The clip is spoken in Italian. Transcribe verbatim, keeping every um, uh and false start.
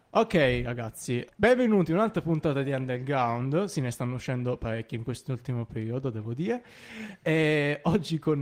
Ok ragazzi, benvenuti in un'altra puntata di Underground, se ne stanno uscendo parecchi in quest'ultimo periodo, devo dire. E oggi con